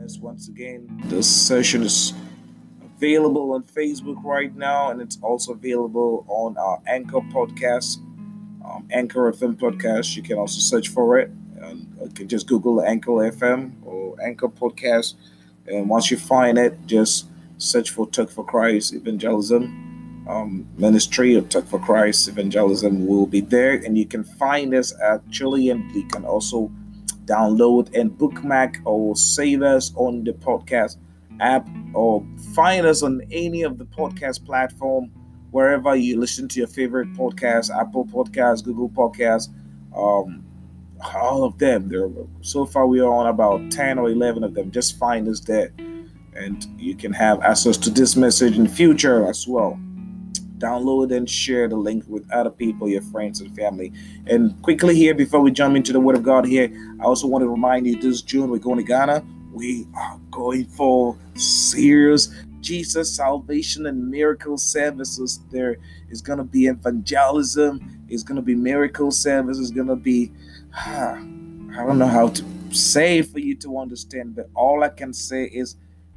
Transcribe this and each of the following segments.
us once again. This session is available on Facebook right now, and it's also available on our Anchor podcast, Anchor FM podcast. You can also search for it. And you can just Google Anchor FM or Anchor podcast, and once you find it, just search for Talk for Christ Evangelism Ministry or Talk for Christ Evangelism will be there, and you can find us actually, and you can also download and bookmark or save us on the podcast app or find us on any of the podcast platform wherever you listen to your favorite podcast, Apple Podcasts, Google Podcasts, um, all of them. There, so far we are on about 10 or 11 of them. Just find us there, and you can have access to this message in the future as well. Download and share the link with other people, your friends and family. And quickly here, before we jump into the Word of God here, I also want to remind you this June we're going to Ghana. We are going for serious Jesus salvation and miracle services. There is going to be evangelism. It's going to be miracle service. It's going to be, I don't know how to say it for you to understand, but all I can say is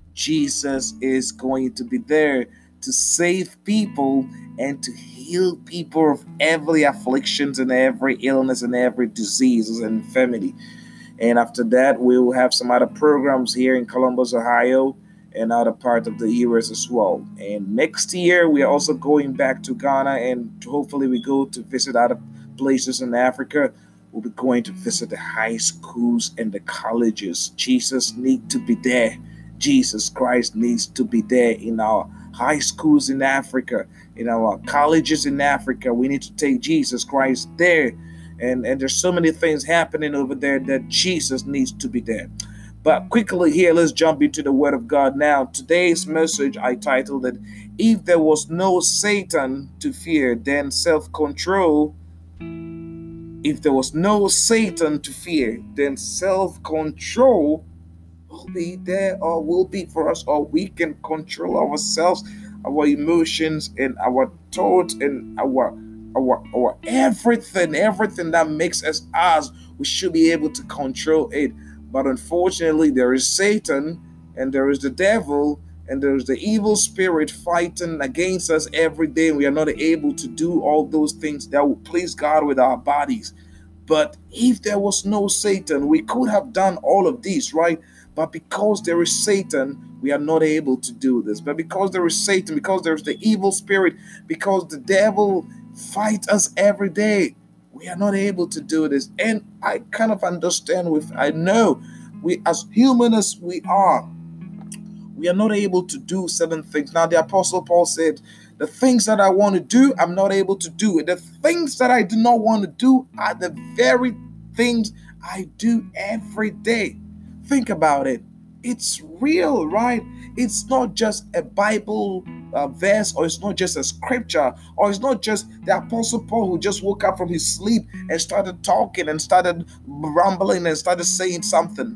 Jesus is going to be there to save people and to heal people of every afflictions and every illness and every disease and infirmity. And after that, we will have some other programs here in Columbus, Ohio, and other part of the US as well. And next year, we are also going back to Ghana, and hopefully we go to visit other places in Africa. We'll be going to visit the high schools and the colleges. Jesus needs to be there. Jesus Christ needs to be there in our high schools in Africa, in our colleges in Africa. We need to take Jesus Christ there. And there's so many things happening over there that Jesus needs to be there. But quickly here, let's jump into the Word of God now. Today's message, I titled it, If There Was No Satan to Fear, Then Self-Control. If there was no Satan to fear, then self-control will be there, or will be for us, or we can control ourselves, our emotions and our thoughts and our everything that makes us. We should be able to control it. But unfortunately, there is Satan, and there is the devil, and there is the evil spirit fighting against us every day. We are not able to do all those things that will please God with our bodies. But if there was no Satan, we could have done all of these, right? But because there is Satan, we are not able to do this. But because there is Satan, because there's the evil spirit, because the devil fights us every day, we are not able to do this. And I kind of understand I know we, as human as we are not able to do certain things. Now, the Apostle Paul said, the things that I want to do, I'm not able to do it. The things that I do not want to do are the very things I do every day. Think about it. It's real, right? It's not just a Bible verse, or it's not just a scripture, or it's not just the Apostle Paul who just woke up from his sleep and started talking and started rambling and started saying something.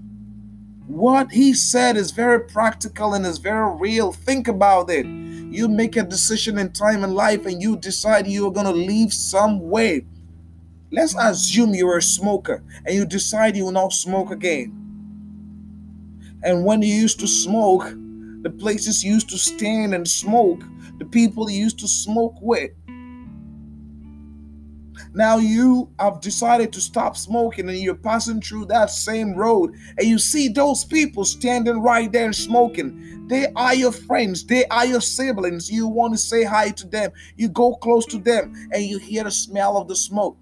What he said is very practical and is very real. Think about it. You make a decision in time in life and you decide you're going to live some way. Let's assume you're a smoker and you decide you will not smoke again. And when you used to smoke, the places you used to stand and smoke, the people you used to smoke with, now you have decided to stop smoking, and you're passing through that same road and you see those people standing right there and smoking. They are your friends. They are your siblings. You want to say hi to them. You go close to them and you hear the smell of the smoke.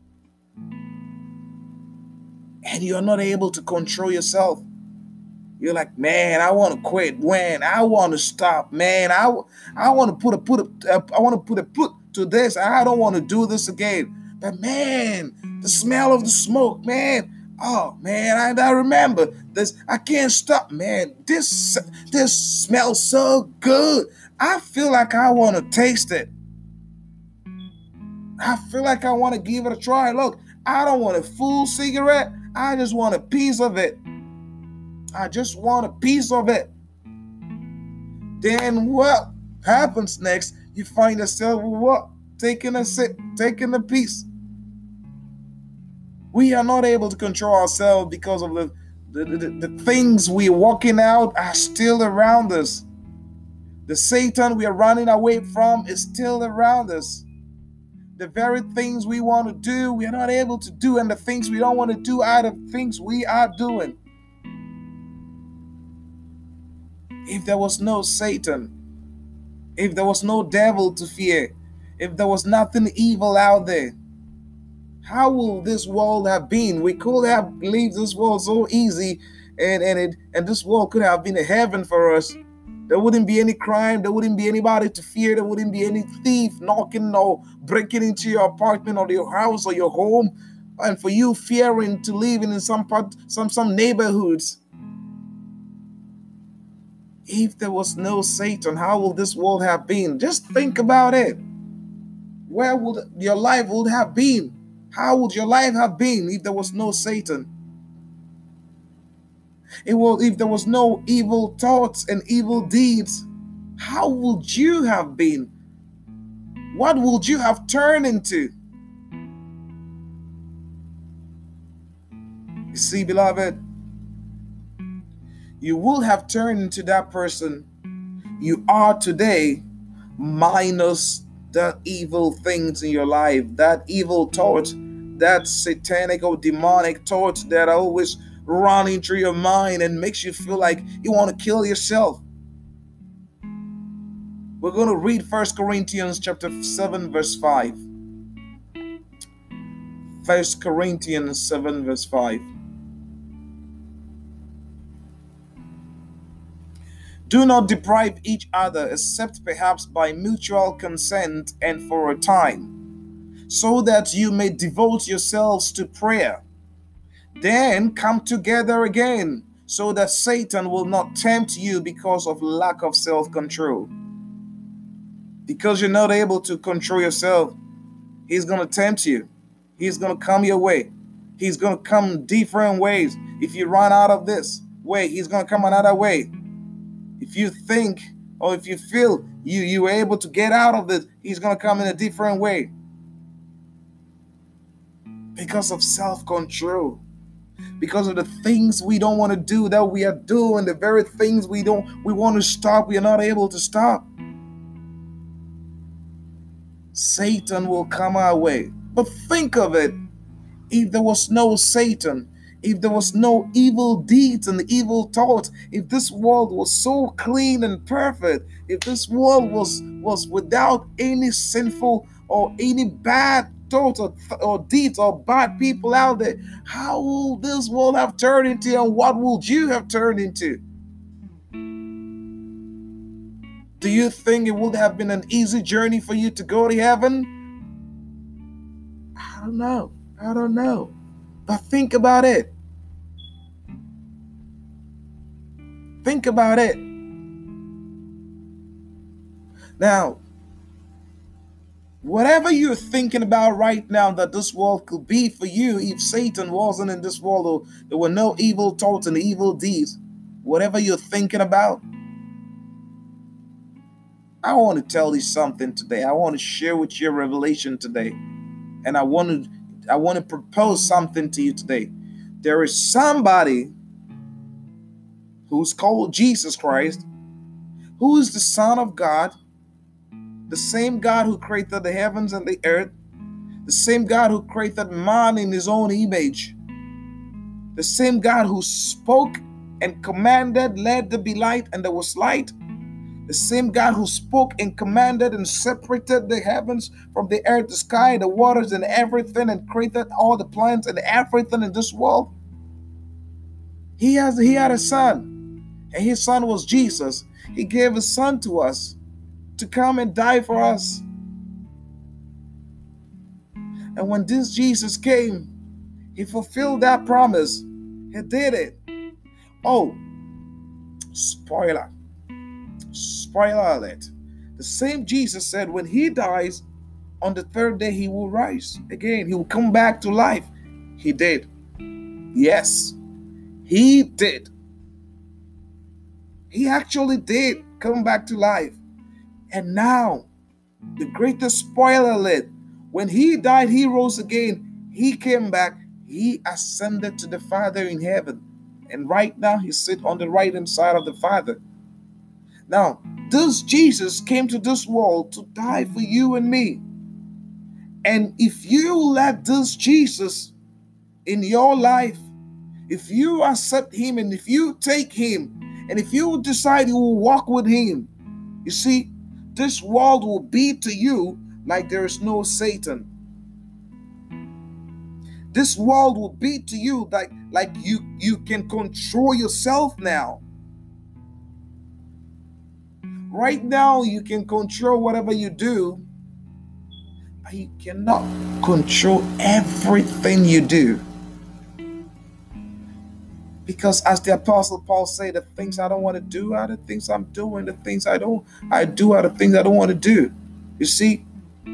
And you're not able to control yourself. You're like, man, I want to quit. Man, I want to stop. Man, I want to put a put to this. I don't want to do this again. But man, the smell of the smoke, man. Oh man, I remember this. I can't stop, man. This smells so good. I feel like I want to taste it. I feel like I want to give it a try. Look, I don't want a full cigarette. I just want a piece of it. I just want a piece of it. Then what happens next? You find yourself what? Taking a sip, taking a piece. We are not able to control ourselves because of The things we're walking out are still around us. The Satan we are running away from is still around us. The very things we want to do, we are not able to do, and the things we don't want to do are the things we are doing. If there was no Satan, if there was no devil to fear, if there was nothing evil out there, how will this world have been? We could have lived this world so easy, and this world could have been a heaven for us. There wouldn't be any crime. There wouldn't be anybody to fear. There wouldn't be any thief knocking or breaking into your apartment or your house or your home, and for you fearing to live in some neighborhoods. If there was no Satan, how would this world have been? Just think about it. Where would your life would have been? How would your life have been if there was no Satan? If there was no evil thoughts and evil deeds, how would you have been? What would you have turned into? You see, beloved, you will have turned into that person you are today, minus the evil things in your life, that evil thought, that satanic or demonic thoughts that are always running through your mind and makes you feel like you want to kill yourself. We're going to read 1 Corinthians chapter 7 verse 5. 1 Corinthians 7 verse 5. Do not deprive each other, except perhaps by mutual consent and for a time, so that you may devote yourselves to prayer. Then come together again, so that Satan will not tempt you because of lack of self-control. Because you're not able to control yourself, he's going to tempt you. He's going to come your way. He's going to come different ways. If you run out of this way, he's going to come another way. If you think or if you feel you were able to get out of this, he's going to come in a different way. Because of self-control. Because of the things we don't want to do that we are doing, the very things we want to stop, we are not able to stop. Satan will come our way. But think of it. If there was no Satan, if there was no evil deeds and evil thoughts, if this world was so clean and perfect, if this world was without any sinful or any bad thoughts or deeds or bad people out there, how will this world have turned into, and what would you have turned into? Do you think it would have been an easy journey for you to go to heaven? I don't know. But think about it. Think about it. Now, whatever you're thinking about right now that this world could be for you, if Satan wasn't in this world, or there were no evil thoughts and evil deeds, whatever you're thinking about, I want to tell you something today. I want to share with you a revelation today. And I want to propose something to you today. There is somebody who's called Jesus Christ, who is the Son of God, the same God who created the heavens and the earth, the same God who created man in his own image, the same God who spoke and commanded, let there be light, and there was light. The same God who spoke and commanded and separated the heavens from the earth, the sky, the waters, and everything, and created all the plants and everything in this world. He had a son, and his son was Jesus. He gave his son to us to come and die for us. And when this Jesus came, he fulfilled that promise. He did it. Oh, spoiler alert. The same Jesus said when he dies, on the third day he will rise again. He will come back to life. He did. Yes, he did. He actually did come back to life. And now, the greatest spoiler alert, when he died, he rose again. He came back. He ascended to the Father in heaven. And right now, he sits on the right hand side of the Father. Now, this Jesus came to this world to die for you and me. And if you let this Jesus in your life, if you accept him and if you take him, and if you decide you will walk with him, you see, this world will be to you like there is no Satan. This world will be to you like you can control yourself now. Right now, you can control whatever you do, but you cannot control everything you do. Because as the Apostle Paul said, the things I don't want to do are the things I'm doing. The things I do are the things I don't want to do. You see,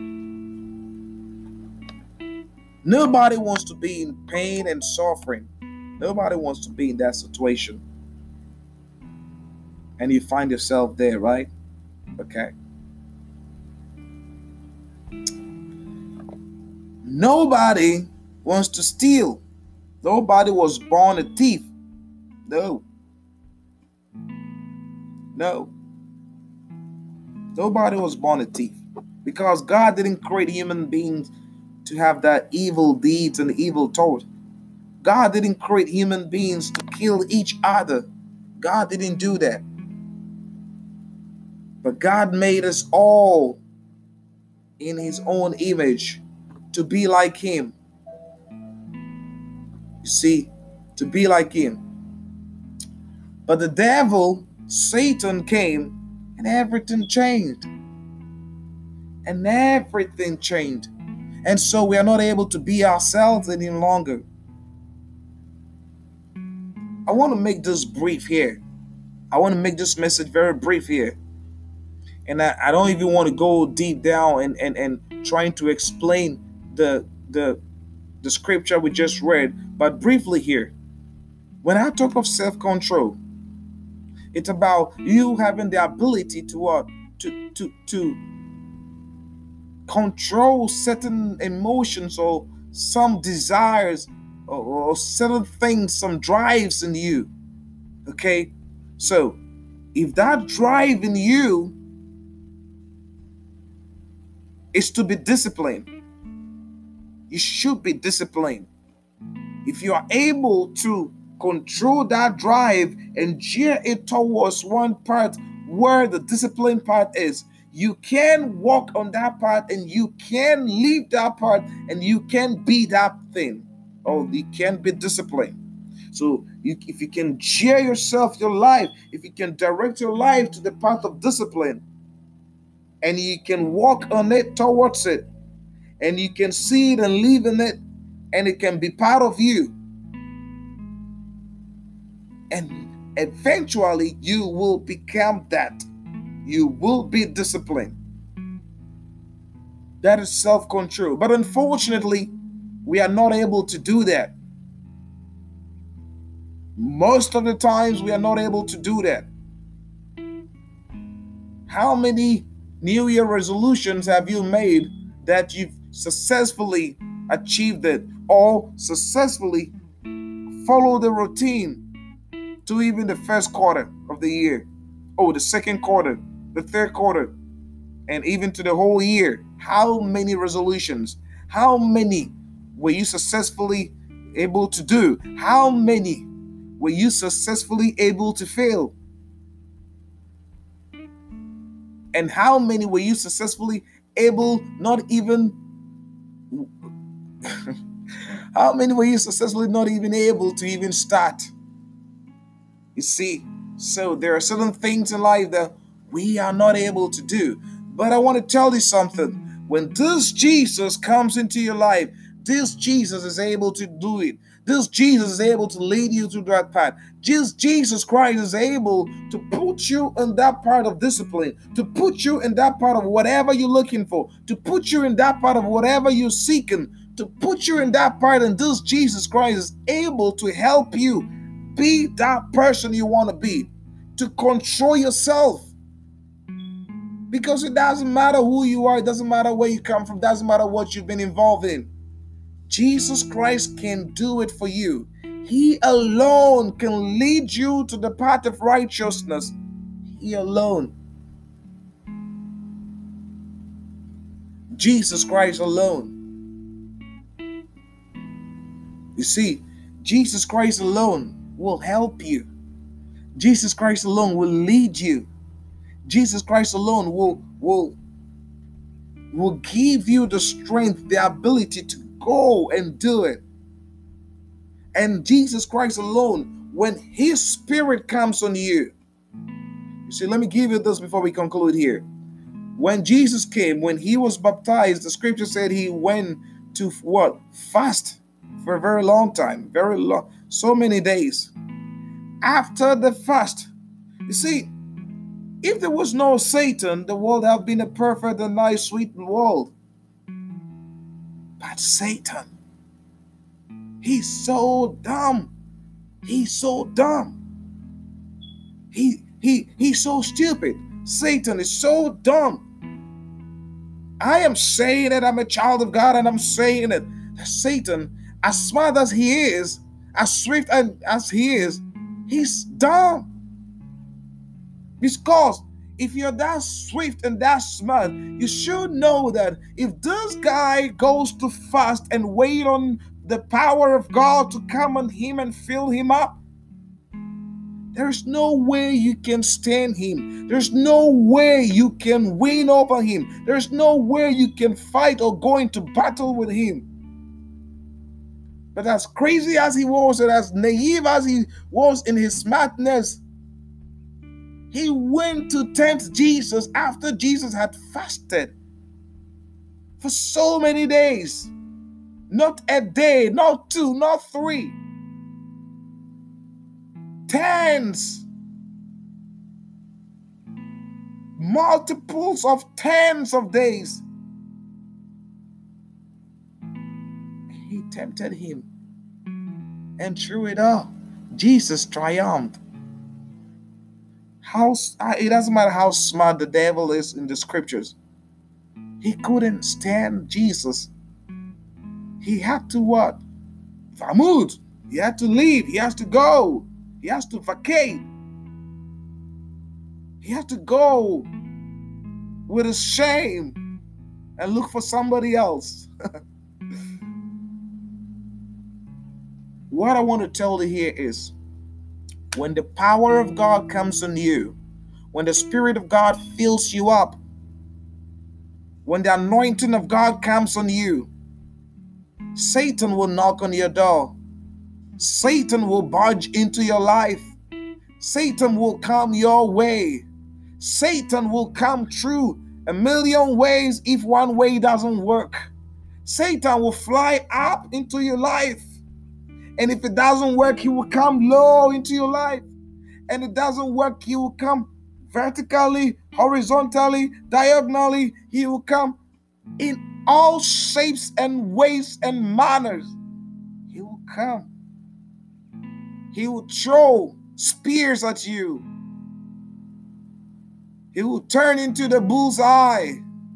nobody wants to be in pain and suffering. Nobody wants to be in that situation. And you find yourself there, right? Okay. Nobody wants to steal. Nobody was born a thief. No. Nobody was born a thief. Because God didn't create human beings to have that evil deeds and evil thought. God didn't create human beings to kill each other. God didn't do that. But God made us all in his own image to be like him. You see, to be like him. But the devil, Satan, came and everything changed. And everything changed. And so we are not able to be ourselves any longer. I want to make this brief here. I want to make this message very brief here. And I don't even want to go deep down and trying to explain the scripture we just read. But briefly here, when I talk of self-control, it's about you having the ability to control certain emotions or some desires or certain things, some drives in you. Okay? So, if that drive in you is to be disciplined, you should be disciplined. If you are able to control that drive and gear it towards one part where the discipline part is, you can walk on that part and you can leave that part and you can be that thing, or you can be disciplined. So if you can gear yourself, your life, if you can direct your life to the path of discipline and you can walk on it towards it and you can see it and live in it and it can be part of you, and eventually you will become that. You will be disciplined. That is self-control. But unfortunately, we are not able to do that. Most of the times, we are not able to do that. How many New Year resolutions have you made that you've successfully achieved it or successfully followed the routine to even the first quarter of the year, or the second quarter, the third quarter, and even to the whole year? How many resolutions? How many were you successfully able to do? How many were you successfully able to fail? And how many were you successfully able not even how many were you successfully not even able to even start? You see, so there are certain things in life that we are not able to do. But I want to tell you something. When this Jesus comes into your life, this Jesus is able to do it. This Jesus is able to lead you through that path. Jesus Christ is able to put you in that part of discipline, to put you in that part of whatever you're looking for, to put you in that part of whatever you're seeking, to put you in that part, and this Jesus Christ is able to help you be that person you want to be, to control yourself. Because it doesn't matter who you are, it doesn't matter where you come from, it doesn't matter what you've been involved in. Jesus Christ can do it for you. He alone can lead you to the path of righteousness. He alone. Jesus Christ alone. You see, Jesus Christ alone will help you. Jesus Christ alone will lead you. Jesus Christ alone will give you the strength, the ability to go and do it. And Jesus Christ alone, when His Spirit comes on you. You see, let me give you this before we conclude here. When Jesus came, when He was baptized, the scripture said He went to what? Fast for a very long time, very long, so many days. After the fast, you see, if there was no Satan, the world would have been a perfect and nice, sweet world. But Satan, he's so dumb. He's so dumb. He's so stupid. Satan is so dumb. I am saying that I'm a child of God, and I'm saying that Satan, as smart as he is, as swift as he is, he's dumb. Because if you're that swift and that smart, you should know that if this guy goes to fast and wait on the power of God to come on him and fill him up, there's no way you can stand him. There's no way you can win over him. There's no way you can fight or go into battle with him. But as crazy as he was and as naive as he was in his smartness, he went to tempt Jesus after Jesus had fasted for so many days. Not a day, not two, not three. Tens. Multiples of tens of days. He tempted him. And through it all, Jesus triumphed. It doesn't matter how smart the devil is in the scriptures. He couldn't stand Jesus. He had to what? Vamut. He had to leave. He has to go. He has to vacate. He has to go with his shame and look for somebody else. What I want to tell you here is, when the power of God comes on you, when the Spirit of God fills you up, when the anointing of God comes on you, Satan will knock on your door. Satan will barge into your life. Satan will come your way. Satan will come through a million ways if one way doesn't work. Satan will fly up into your life. And if it doesn't work, he will come low into your life. And it doesn't work, he will come vertically, horizontally, diagonally. He will come in all shapes and ways and manners. He will come. He will throw spears at you. He will turn into the bullseye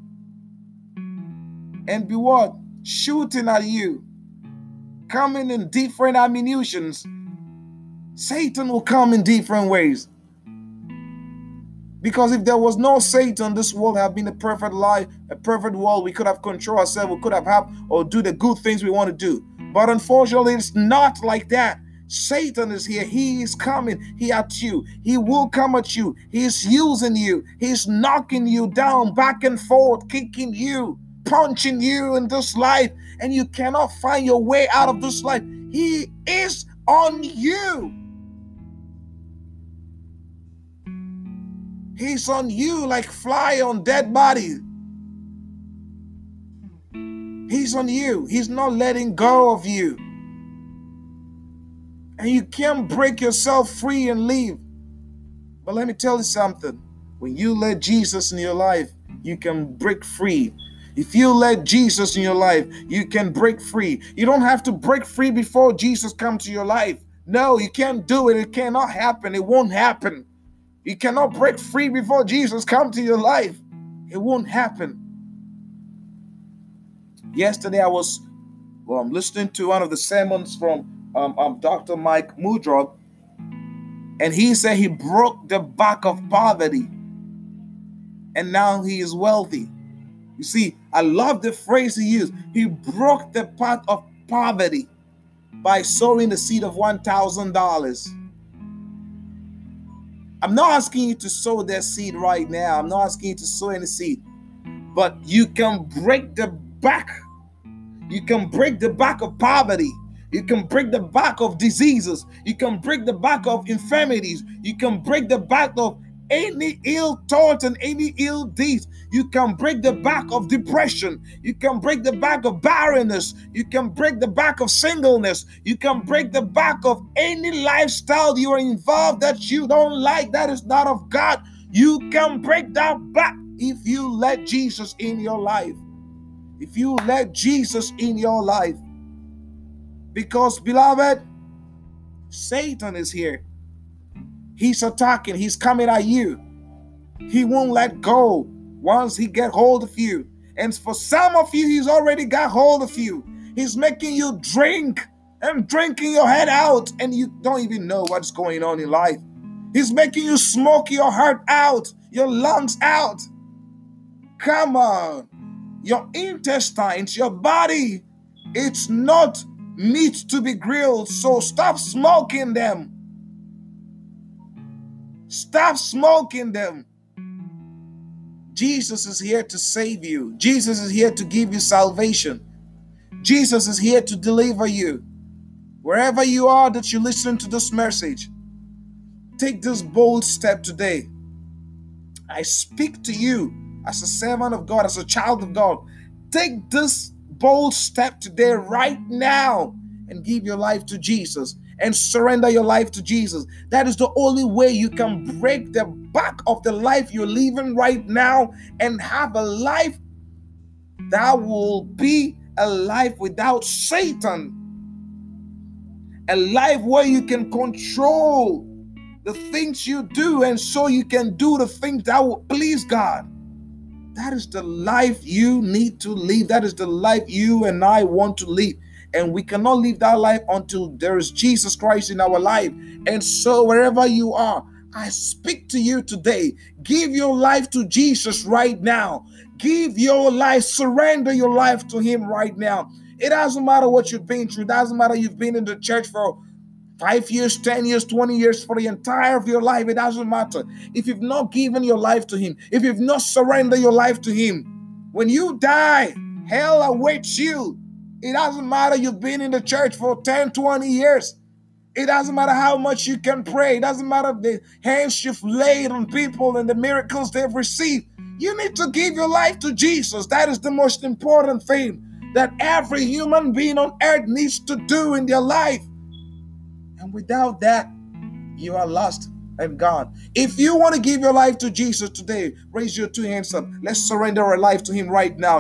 and be what? Shooting at you. Coming in different ammunitions. Satan will come in different ways. Because if there was no Satan, this world have been a perfect life, a perfect world. We could have control ourselves. We could have or do the good things we want to do. But unfortunately, it's not like that. Satan is here. He is coming. He at you. He will come at you. He is using you. He's knocking you down, back and forth, kicking you, punching you in this life. And you cannot find your way out of this life. He is on you. He's on you like fly on dead body. He's on you. He's not letting go of you. And you can't break yourself free and leave. But let me tell you something. When you let Jesus in your life, you can break free. If you let Jesus in your life, you can break free. You don't have to break free before Jesus comes to your life. No, you can't do it. It cannot happen. It won't happen. You cannot break free before Jesus comes to your life. It won't happen. Yesterday I was listening to one of the sermons from Dr. Mike Mudrog, and he said he broke the back of poverty, and now he is wealthy. You see, I love the phrase he used. He broke the path of poverty by sowing the seed of $1,000. I'm not asking you to sow that seed right now. I'm not asking you to sow any seed. But you can break the back. You can break the back of poverty. You can break the back of diseases. You can break the back of infirmities. You can break the back of any ill thoughts and any ill deeds. You can break the back of depression. You can break the back of barrenness. You can break the back of singleness. You can break the back of any lifestyle you are involved that you don't like, that is not of God. You can break that back if you let Jesus in your life. If you let Jesus in your life. Because, beloved, Satan is here. He's attacking. He's coming at you. He won't let go once he get hold of you. And for some of you, he's already got hold of you. He's making you drink and drinking your head out, and you don't even know what's going on in life. He's making you smoke your heart out, your lungs out. Come on. Your intestines, your body, it's not meat to be grilled, so stop smoking them. Stop smoking them. Jesus is here to save you. Jesus is here to give you salvation. Jesus is here to deliver you. Wherever you are that you listen to this message, take this bold step today. I speak to you as a servant of God, as a child of God. Take this bold step today, right now, and give your life to Jesus and surrender your life to Jesus. That is the only way you can break the back of the life you're living right now and have a life that will be a life without Satan. A life where you can control the things you do, and so you can do the things that will please God. That is the life you need to live. That is the life you and I want to live. And we cannot live that life until there is Jesus Christ in our life. And so wherever you are, I speak to you today. Give your life to Jesus right now. Give your life, surrender your life to him right now. It doesn't matter what you've been through. It doesn't matter you've been in the church for 5 years, 10 years, 20 years, for the entire of your life. It doesn't matter. If you've not given your life to him, if you've not surrendered your life to him, when you die, hell awaits you. It doesn't matter you've been in the church for 10, 20 years. It doesn't matter how much you can pray. It doesn't matter the hands you've laid on people and the miracles they've received. You need to give your life to Jesus. That is the most important thing that every human being on earth needs to do in their life. And without that, you are lost and gone. If you want to give your life to Jesus today, raise your 2 hands up. Let's surrender our life to him right now.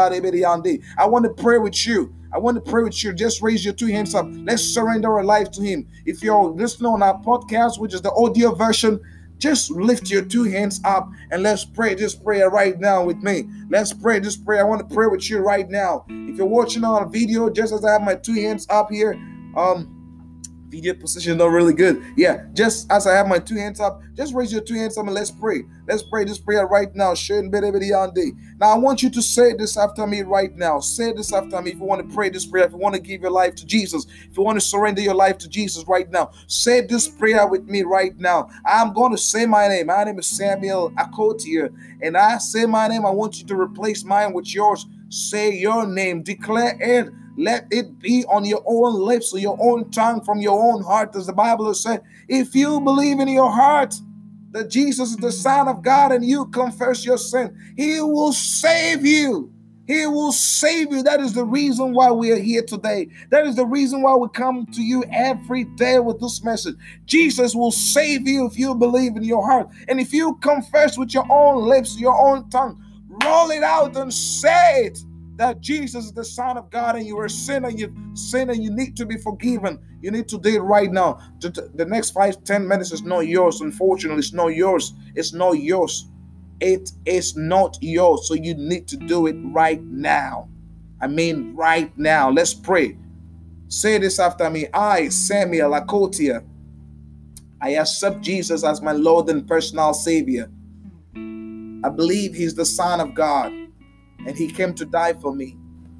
I want to pray with you. Just raise your 2 hands up. Let's surrender our life to him. If you're listening on our podcast, which is the audio version, just lift your 2 hands up and let's pray this prayer right now with me. Let's pray this prayer. I want to pray with you right now. If you're watching on a video, just as I have my 2 hands up here, video position is not really good. Yeah, just as I have my 2 hands up, just raise your 2 hands up and let's pray. Let's pray this prayer right now. Now I want you to say this after me right now. Say this after me if you want to pray this prayer, if you want to give your life to Jesus, if you want to surrender your life to Jesus right now. Say this prayer with me right now. I'm going to say my name. My name is Samuel Akotia, and I say my name. I want you to replace mine with yours. Say your name. Declare it. Let it be on your own lips or your own tongue from your own heart. As the Bible has said, if you believe in your heart that Jesus is the Son of God and you confess your sin, he will save you. He will save you. That is the reason why we are here today. That is the reason why we come to you every day with this message. Jesus will save you if you believe in your heart. And if you confess with your own lips, your own tongue, roll it out and say it. That Jesus is the Son of God and you are a sinner, you've sinned and you need to be forgiven. You need to do it right now. The next 5-10 minutes is not yours. Unfortunately, it's not yours. It's not yours. It is not yours. So you need to do it right now. I mean, right now. Let's pray. Say this after me. I, Samuel Akotia, I accept Jesus as my Lord and personal Savior. I believe He's the Son of God and He came to die for me.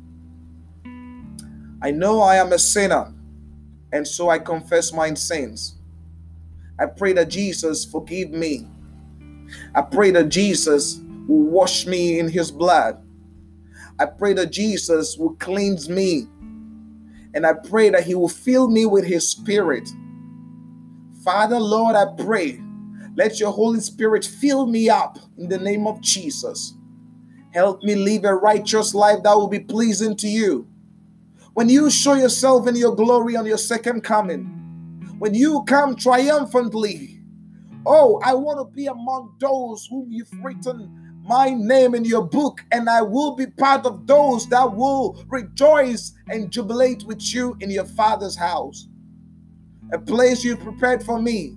I know I am a sinner, and so I confess my sins. I pray that Jesus forgive me. I pray that Jesus will wash me in His blood. I pray that Jesus will cleanse me. And I pray that He will fill me with His Spirit. Father, Lord, I pray, let your Holy Spirit fill me up in the name of Jesus. Help me live a righteous life that will be pleasing to you. When you show yourself in your glory on your second coming, when you come triumphantly, oh, I want to be among those whom you've written my name in your book, and I will be part of those that will rejoice and jubilate with you in your Father's house, a place you prepared for me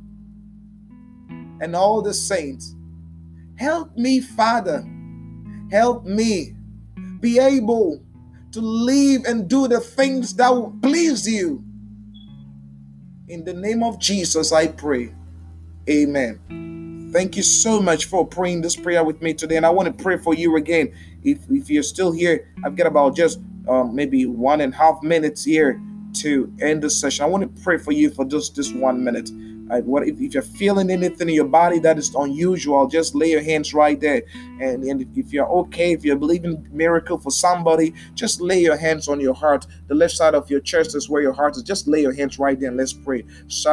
and all the saints. Help me, Father. Help me be able to live and do the things that will please you. In the name of Jesus, I pray. Amen. Thank you so much for praying this prayer with me today. And I want to pray for you again. If you're still here, I've got about just maybe 1.5 minutes here to end the session. I want to pray for you for just this 1 minute. If you're feeling anything in your body that is unusual, just lay your hands right there. And if you're okay, if you're believing miracle for somebody, just lay your hands on your heart. The left side of your chest is where your heart is. Just lay your hands right there and let's pray.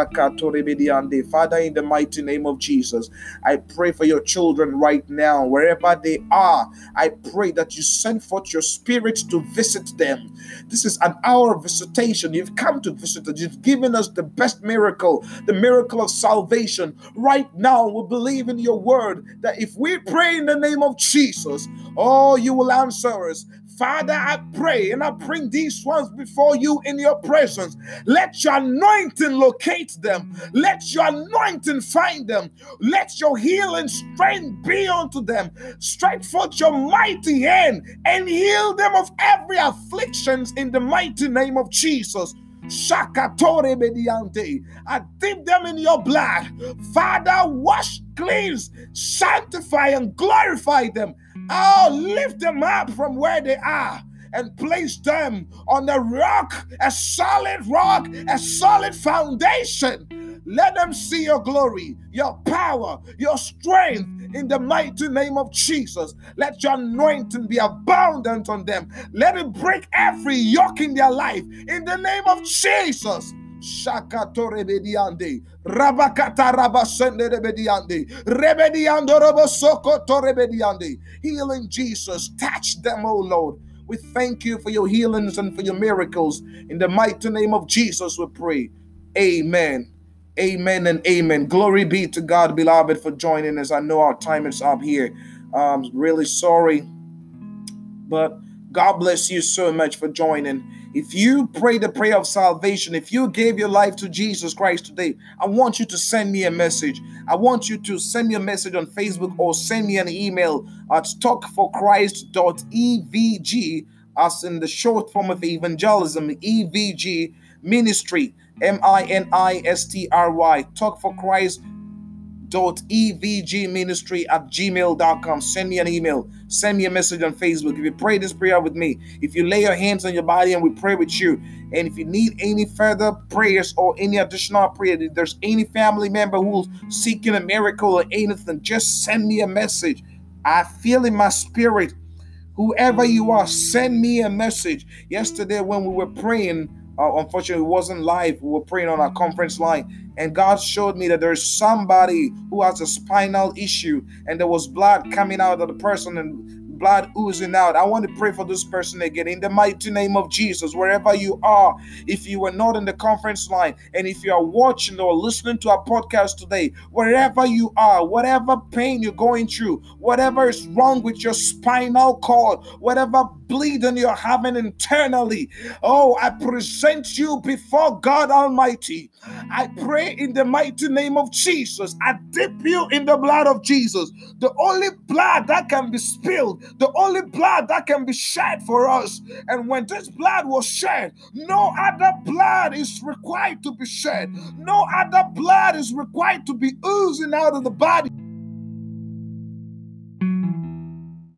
Father, in the mighty name of Jesus, I pray for your children right now, wherever they are. I pray that you send forth your Spirit to visit them. This is an hour of visitation. You've come to visit us. You've given us the best miracle, the miracle of salvation. Right now, we believe in your word that if we pray in the name of Jesus, oh, you will answer us. Father, I pray and I bring these ones before you in your presence. Let your anointing locate them. Let your anointing find them. Let your healing strength be unto them. Stretch forth your mighty hand and heal them of every affliction in the mighty name of Jesus. Shakatore Mediante. I dip them in your blood. Father, wash, cleanse, sanctify, and glorify them. Oh, lift them up from where they are and place them on a rock, a solid foundation. Let them see your glory, your power, your strength in the mighty name of Jesus. Let your anointing be abundant on them. Let it break every yoke in their life in the name of Jesus. Shakatore Bediande, Rabakata Rabasende Rebediande, Rebediando Robosoko Torebediande. Healing Jesus, touch them, oh Lord. We thank you for your healings and for your miracles. In the mighty name of Jesus, we pray. Amen. Amen and amen. Glory be to God, beloved, for joining us. I know our time is up here. I'm really sorry, but God bless you so much for joining. If you pray the prayer of salvation, if you gave your life to Jesus Christ today, I want you to send me a message. I want you to send me a message on Facebook or send me an email at talkforchrist.evg, as in the short form of evangelism, EVG Ministry, MINISTRY, talkforchrist.evgministry@gmail.com. Send me an email. Send me a message on Facebook. If you pray this prayer with me, if you lay your hands on your body and we pray with you, and if you need any further prayers or any additional prayer, if there's any family member who's seeking a miracle or anything, just send me a message. I feel in my spirit, whoever you are, send me a message. Yesterday when we were praying, unfortunately, it wasn't live. We were praying on our conference line, and God showed me that there's somebody who has a spinal issue, and there was blood coming out of the person and blood oozing out. I want to pray for this person again in the mighty name of Jesus, wherever you are. If you were not in the conference line, and if you are watching or listening to our podcast today, wherever you are, whatever pain you're going through, whatever is wrong with your spinal cord, whatever bleeding you're having internally, oh, I present you before God Almighty. I pray in the mighty name of Jesus. I dip you in the blood of Jesus, the only blood that can be spilled the only blood that can be shed for us. And when this blood was shed, no other blood is required to be shed. No other blood is required to be oozing out of the body